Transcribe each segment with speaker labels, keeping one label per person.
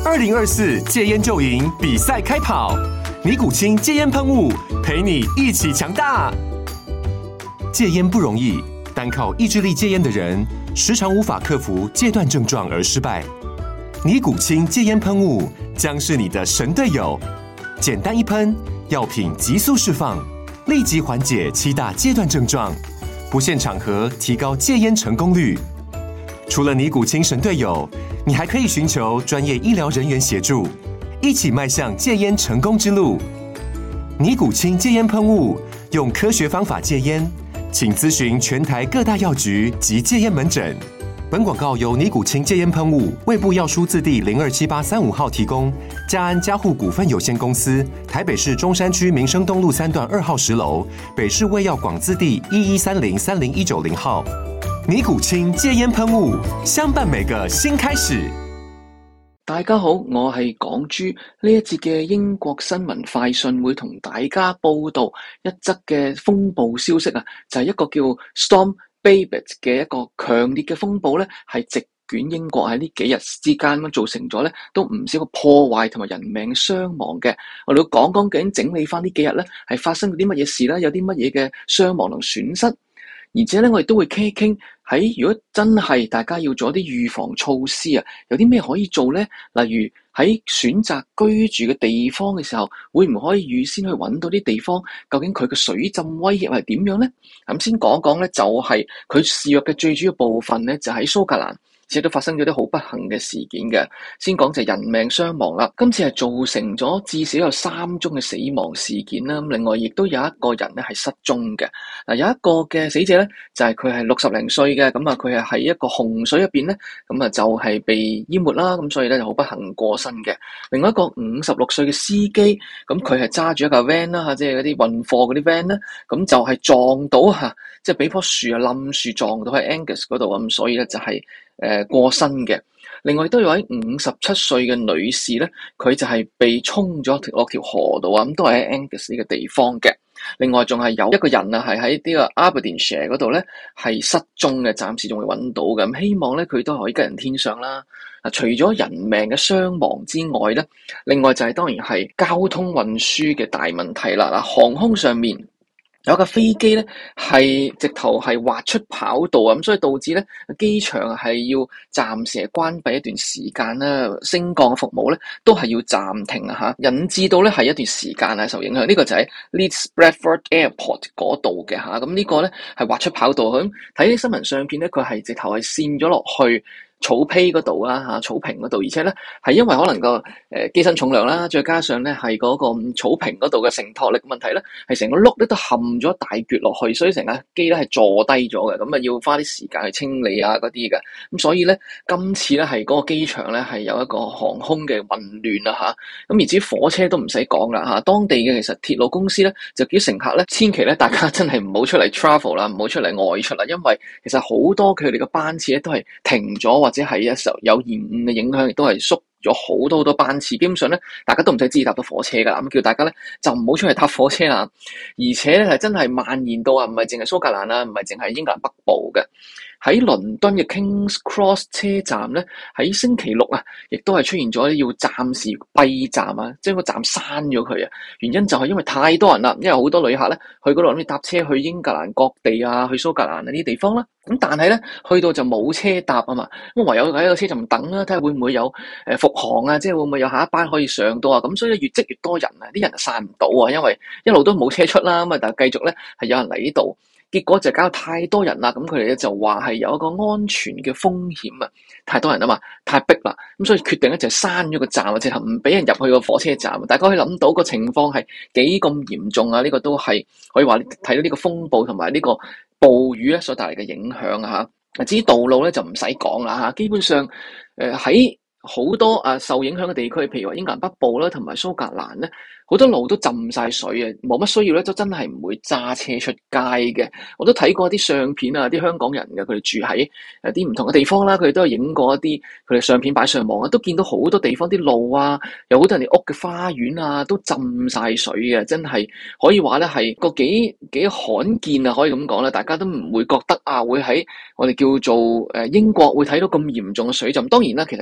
Speaker 1: 2024戒菸就贏比賽開跑，尼古清戒菸噴霧陪你一起強大。戒菸不容易，單靠意志力戒菸的人，時常無法克服戒斷症狀而失敗。尼古清戒菸噴霧將是你的神隊友，簡單一噴，藥品急速釋放，立即緩解7大戒斷症狀，不限場合提高戒菸成功率。除了尼古清神隊友，你還可以尋求專業醫療人員協助，一起邁向戒菸成功之路。尼古清戒菸噴霧，用科學方法戒菸，請諮詢全台各大藥局及戒菸門診。本廣告由尼古清戒菸噴霧衛部藥書字第027835號提供，嘉安嘉護股份有限公司台北市中山區民生東路3段2號10樓，北市衛藥廣字第1130-30190號。尼古清戒菸噴霧，相伴每個新開始。
Speaker 2: 大家好，我係港豬。呢一節嘅英國新聞快訊會同大家報道一則嘅風暴消息啊，就係一個叫 Storm Babet 嘅一個強烈嘅風暴咧，係席捲英國，喺呢幾日之間咁造成咗咧都唔少個破壞同埋人命傷亡嘅。我哋要講講究竟整理翻呢幾日咧係發生咗啲乜嘢事啦，有啲乜嘢嘅傷亡同損失。而且咧，我哋都會傾一傾喺如果真係大家要做一啲預防措施啊，有啲咩可以做咧？例如喺選擇居住嘅地方嘅時候，會唔可以預先去揾到啲地方，究竟佢嘅水浸威脅係點樣咧？咁先講講咧，就係佢肆虐嘅最主要部分咧，就喺蘇格蘭。而且都發生咗啲好不幸嘅事件嘅，先講就係人命傷亡啦。今次係造成咗至少有3宗嘅死亡事件啦。咁另外亦都有一個人咧係失蹤嘅。嗱，有一個嘅死者咧就係佢係60零歲嘅，咁啊佢係喺一個洪水入邊咧，咁啊就係被淹沒啦。咁所以咧就好不幸過身嘅。另外一個56歲嘅司機，咁佢係揸住一架 van 啦嚇，即係嗰啲運貨嗰啲 van 啦，咁就係撞到嚇，即係俾棵樹啊冧樹撞到喺 Angus 嗰度咁，所以咧就係過身嘅。另外都有位57歲嘅女士咧，佢就係被沖咗落條河度啊，咁都係喺 Angus 呢個地方嘅。另外仲係有一個人啊，係喺呢個 Aberdeenshire 嗰度咧係失蹤嘅，暫時仲未揾到嘅。咁希望咧佢都可以吉人天相啦。除咗人命嘅傷亡之外咧，另外就係當然係交通運輸嘅大問題啦。嗱，航空上面有架飛機咧係直頭係滑出跑道啊，咁所以導致咧機場係要暫時係關閉一段時間啦，升降服務咧都係要暫停啊嚇，引致到咧係一段時間係受影響。呢個就喺 Leeds Bradford Airport 嗰度嘅嚇，咁呢個咧係滑出跑道。咁睇啲新聞相片咧，佢係直頭係跣咗落去草坯嗰度啦嚇，草坪嗰度，而且咧係因為可能個機身重量啦，再加上咧係嗰個草坪嗰度嘅承托力問題咧，係成個轆咧都陷咗大橛落去，所以成架機咧係坐低咗嘅，咁啊要花啲時間去清理啊嗰啲嘅，咁所以咧今次咧係嗰個機場咧係有一個航空嘅混亂啊嚇，咁而至於火車都唔使講啦嚇，當地嘅其實鐵路公司咧就叫乘客咧千祈咧大家真係唔好出嚟 travel 啦，唔好出嚟外出啦，因為其實好多佢哋嘅班次咧都係停咗，或者係一時候有延誤嘅影響，亦都係縮咗好多班次。基本上咧，大家都唔使自己搭到火車噶啦。咁叫大家咧就唔好出去搭火車啦。而且咧係真係蔓延到啊，唔係淨係蘇格蘭啦，唔係淨係英格蘭北部嘅。喺倫敦嘅 King's Cross 車站咧，喺星期六啊，亦都係出現咗要暫時閉站啊，將個站閂咗佢啊。原因就係因為太多人啦，因為好多旅客咧去嗰度諗住搭車去英格蘭各地啊，去蘇格蘭啊呢啲地方啦。咁但係咧去到就冇車搭啊嘛，咁唯有喺個車站等啦，睇下會唔會有復航啊，即係會唔會有下一班可以上到啊。咁所以越積越多人啊，啲人就散唔到啊，因為一路都冇車出啦，咁啊但係繼續咧係有人嚟呢度。結果就搞到太多人啦，咁佢哋咧就話係有一個安全嘅風險啊，太多人啊嘛，太逼啦，咁所以決定咧就閂咗個站啊，直頭唔俾人入去個火車站。大家可以諗到個情況係幾咁嚴重啊！呢個都係可以話睇到呢個風暴同埋呢個暴雨咧所帶嚟嘅影響啊嚇。至於道路咧就唔使講啦嚇，基本上喺好多受影響嘅地區，譬如話英格蘭北部啦，同埋蘇格蘭咧，好多路都浸晒水啊，冇乜需要咧，都真係唔會揸車出街嘅。我都睇過啲相片啊，啲香港人嘅佢哋住喺啲唔同嘅地方啦，佢哋都有影過一啲佢哋相片擺上網啊，都見到好多地方啲路啊，有好多人哋屋嘅花園啊，都浸晒水嘅，真係可以話咧係個幾罕見啊，可以咁講啦，大家都唔會覺得會喺我哋叫做英國會睇到咁嚴重嘅水浸。當然啦，其實間唔中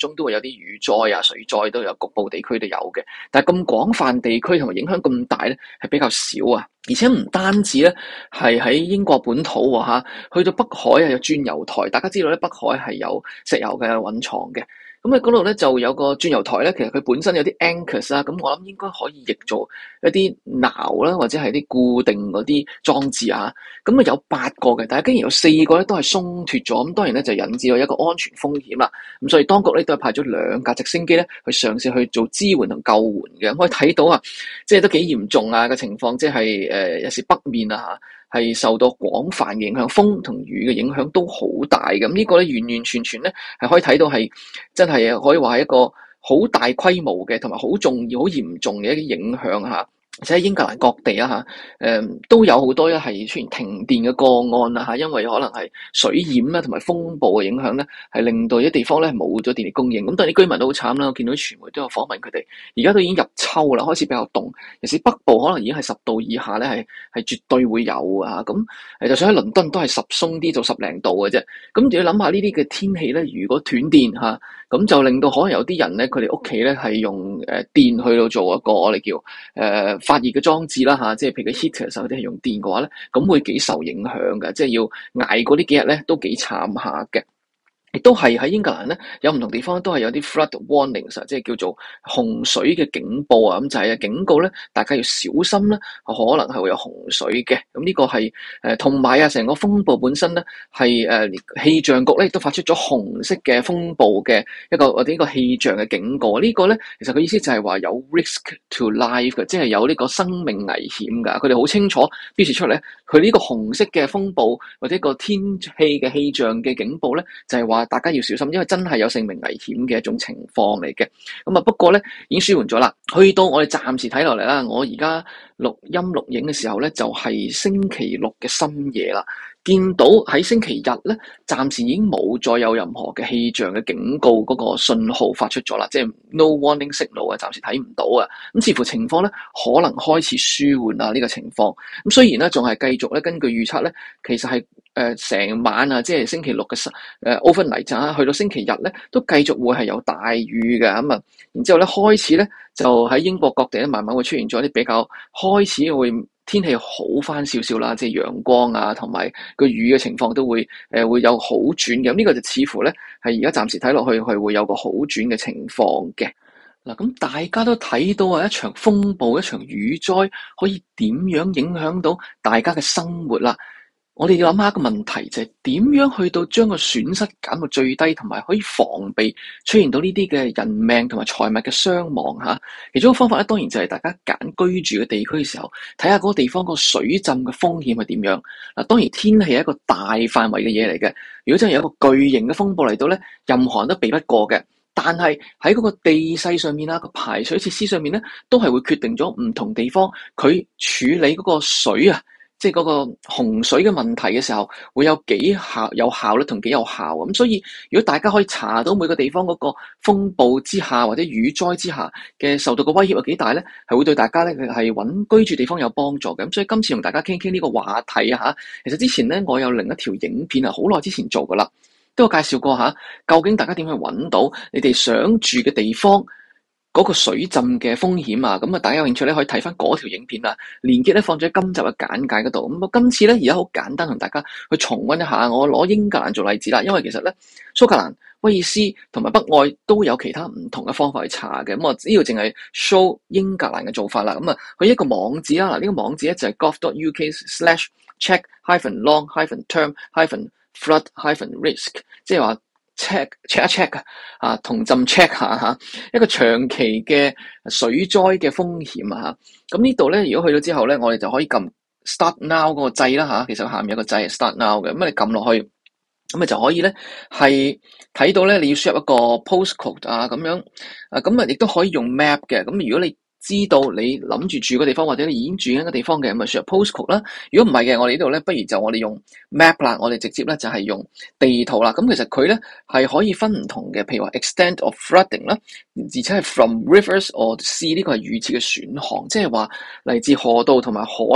Speaker 2: 中都會有啲雨災啊、水災都有，局部地區都有嘅。但係咁廣泛地區同埋影響咁大咧，係比較少啊。而且唔單止咧，係喺英國本土嚇，去到北海啊有鑽油台。大家知道咧，北海係有石油嘅蘊藏嘅。咁喺嗰度咧就有個鑽油台咧，其實佢本身有啲 anchors 啦，咁我諗應該可以譯做一啲錨啦，或者係啲固定嗰啲裝置啊。咁啊有8個嘅，但係竟然有4個咧都係鬆脫咗，咁當然咧就引致到一個安全風險啦。咁所以當局咧都係派咗2架直升機咧去嘗試去做支援同救援嘅。可以睇到啊，即係都幾嚴重啊嘅情況，即係有時北面啊係受到廣泛影響，風同雨嘅影響都好大嘅。咁呢個咧完完全全咧係可以睇到係真係可以話係一個好大規模嘅同埋好重要、好嚴重嘅一啲影響嚇。而且喺英格蘭各地啊都有好多係出現停電嘅個案啊，因為可能係水淹啦同埋風暴嘅影響咧，係令到啲地方咧冇咗電力供應。咁但係啲居民都好慘啦，我見到啲傳媒都有訪問佢哋，而家都已經入秋啦，開始比較凍，尤其是北部可能已經係10度以下咧，係絕對會有啊。咁就算喺倫敦都係10鬆啲到10零度嘅啫。咁你要諗下呢啲嘅天氣咧，如果斷電咁就令到可能有啲人咧，佢哋屋企咧係用電去到做一個我哋叫發熱嘅裝置啦即係譬如個 heater 嗰啲係用電嘅話咧，咁會幾受影響嘅，即係要捱過呢幾日咧都幾慘下嘅。亦都係喺英格蘭咧，有唔同地方都係有啲 flood warnings 即係叫做洪水嘅警報啊，咁就係警告咧，大家要小心啦，可能係會有洪水嘅。咁呢個係同埋成個風暴本身咧係氣象局咧亦都發出咗紅色嘅風暴嘅一個或者呢個氣象嘅警告。呢個咧其實佢意思就係話有 risk to life 嘅，即係有呢個生命危險㗎。佢哋好清楚標示出嚟，佢呢個紅色嘅風暴或者個天氣嘅氣象嘅警報咧，就係話大家要小心，因為真係有性命危險嘅一種情況嚟嘅。咁啊，不過咧已經舒緩咗啦。去到我哋暫時睇落嚟啦，我而家錄音錄影嘅時候咧，就係星期六嘅深夜啦。見到喺星期日咧，暫時已經冇再有任何嘅氣象嘅警告嗰個信號發出咗啦，即係 no warning signal 啊，暫時睇唔到啊。咁似乎情況咧可能開始舒緩啊呢個情況。咁雖然咧仲係繼續咧，根據預測咧，其實係成晚啊，即係星期六嘅overnight 啊，去到星期日咧都繼續會係有大雨嘅咁啊。然之後咧開始咧就喺英國各地咧慢慢會出現咗啲比較開始會天氣好翻少少啦，即係陽光啊，同埋個雨嘅情況都會會有好轉嘅。咁呢個就似乎咧係而家暫時睇落去係會有個好轉嘅情況嘅。嗱，咁大家都睇到啊，一場風暴、一場雨災可以點樣影響到大家嘅生活啦。我哋要諗下一個問題，就係點樣去到將個損失減到最低，同埋可以防備出現到呢啲嘅人命同埋財物嘅傷亡嚇。其中一個方法咧，當然就係大家揀居住嘅地區嘅時候，睇下嗰個地方個水浸嘅風險係點樣。嗱，當然天氣係一個大範圍嘅嘢嚟嘅。如果真係有一個巨型嘅風暴嚟到咧，任何人都避不過嘅。但係喺嗰個地勢上面啦，個排水設施上面咧，都係會決定咗唔同地方佢處理嗰個水啊，即係嗰個洪水嘅問題嘅時候，會有幾有效率同幾有效。咁所以如果大家可以查到每個地方嗰個風暴之下或者雨災之下嘅受到嘅威脅有幾大咧，係會對大家咧係揾居住地方有幫助嘅。咁所以今次同大家傾傾呢個話題啊，其實之前咧我有另一條影片啊，好耐之前做噶啦，都有介紹過究竟大家點去揾到你哋想住嘅地方嗰個水浸嘅風險啊。咁啊，大家有興趣咧可以睇翻嗰條影片啊，連結咧放咗喺今集嘅簡介嗰度。咁啊，今次咧而家好簡單同大家去重溫一下，我攞英格蘭做例子啦，因為其實咧蘇格蘭、威爾斯同埋北愛都有其他唔同嘅方法去查嘅。咁我呢度淨係 show 英格蘭嘅做法啦。咁啊，佢一個網址啦，嗱呢個網址咧就係 gov.uk/check-long-term-flood-risk， 即係話 check 一 check 啊，同浸 check 下一個長期嘅水災嘅風險啊。咁呢度咧，如果去到之後咧，我哋就可以撳 Start Now 嗰個掣啦。其實下面有個掣係 Start Now 嘅，咁你撳落去，咁就可以咧係睇到咧你要輸入一個 postcode 啊咁樣啊，咁啊亦都可以用 map 嘅。咁如果你知道你諗住住個地方，或者你已經住緊個地方嘅，咁咪輸入 postcode啦。如果唔係嘅，我哋呢度咧，不如就我哋用 map 啦。我哋直接咧就係用地圖啦。咁其實佢咧係可以分唔同嘅，譬如話 extent of flooding 啦，而且係 from rivers or sea， 呢個係預設嘅選項，即係話嚟自河道同埋海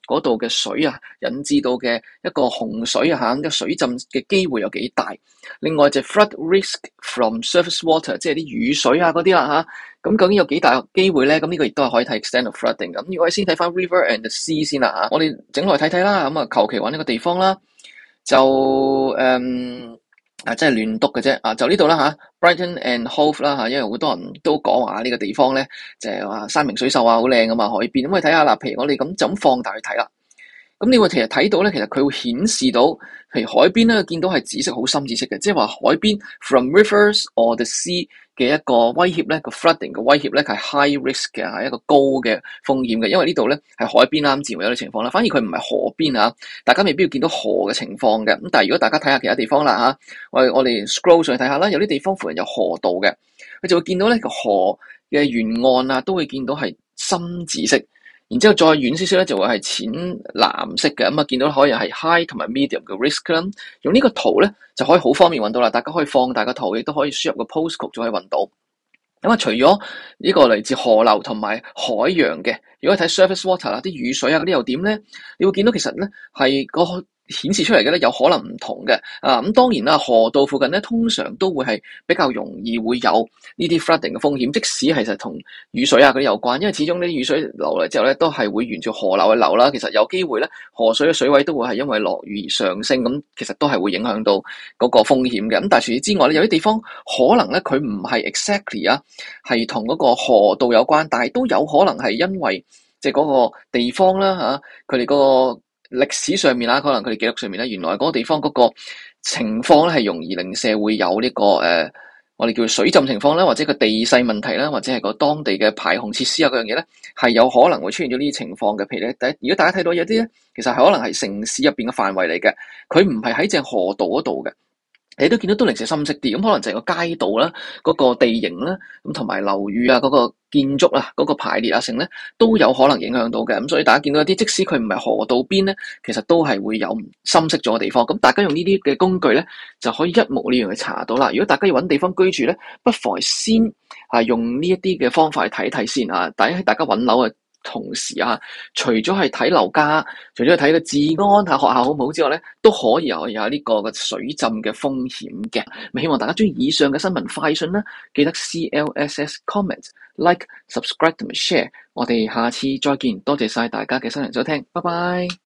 Speaker 2: 嗰度嘅水啊引致到嘅一個洪水啊嚇，水浸嘅機會有幾大。另外就 flood risk from surface water， 即係啲雨水啊嗰啲啦嚇，咁究竟有幾大機會咧？咁呢個亦都係可以睇 extent of flooding。咁如果我哋先睇翻 river and the sea 先啦嚇，我哋整落去睇睇啦。咁啊求其揾一個地方啦，就真係亂篤嘅啫就呢度啦嚇 Brighton and Hove 啦嚇，因為好多人都講話呢個地方咧就係話山明水秀啊，好靚啊嘛，海邊。咁我哋睇下啦，譬如我哋就咁放大去睇啦。咁你會其實睇到咧，其實佢會顯示到，譬如海邊咧，見到係紫色，好深紫色嘅，即係話海邊 from rivers or the sea 嘅一個威脅咧，個 flooding 嘅威脅咧係 high risk 嘅，係一個高嘅風險嘅，因為呢度咧係海邊啦，咁自然會有啲情況啦。反而佢唔係河邊啊，大家未必要見到河嘅情況嘅。咁但係如果大家睇下其他地方啦嚇，我哋 scroll 上去睇下啦，有啲地方附近有河道嘅，佢就會見到咧個河嘅沿岸啊，都會見到係深紫色。然之後再遠少少咧，就會係淺藍色嘅，咁見到可以係 high 同埋 medium 嘅 risk 啦。用呢個圖咧就可以好方便揾到啦，大家可以放大個圖，亦都可以輸入個 postcode 就可以揾到。咁除咗呢個嚟自河流同埋海洋嘅，如果睇 surface water 啦，啲雨水啊嗰啲又點咧？你會見到其實咧係個顯示出嚟嘅咧有可能唔同嘅咁當然啦，河道附近咧通常都會係比較容易會有呢啲 flooding 嘅風險，即使其實同雨水啊嗰啲有關，因為始終呢啲雨水流嚟之後咧都係會沿住河流去流啦，其實有機會咧河水嘅水位都會係因為落雨而上升，咁其實都係會影響到嗰個風險嘅。咁但係除此之外咧，有啲地方可能咧佢唔係 exactly 係同嗰個河道有關，但係都有可能係因為即係嗰個地方啦佢哋嗰個歷史上面可能佢哋記錄上面咧，原來嗰個地方嗰個情況咧係容易令社會有呢個我哋叫水浸情況啦，或者個地勢問題啦，或者係個當地嘅排洪設施啊嗰樣嘢咧，係有可能會出現咗呢啲情況嘅。譬如咧，如果大家睇到有啲咧，其實係可能係城市入邊嘅範圍嚟嘅，佢唔係喺正河道嗰度嘅。你都見到都零舍深色啲，咁可能就係個街道啦，嗰個地形啦，咁同埋樓宇啊，嗰個建築啊，嗰個排列啊成咧，都有可能影響到嘅。咁所以大家見到一啲，即使佢唔係河道邊咧，其實都係會有深色咗嘅地方。咁大家用呢啲嘅工具咧，就可以一目了然去查到啦。如果大家要揾地方居住咧，不妨先用呢一啲嘅方法去睇睇先啊。大家揾樓同時除咗係睇樓價，除咗係睇個治安學校好唔好之外咧，都可以有呢個嘅水浸嘅風險嘅。咁希望大家中意以上嘅新聞快訊啦，記得 CLSS comment like subscribe 同埋 share。我哋下次再見，多謝晒大家嘅收聽收聽，拜拜。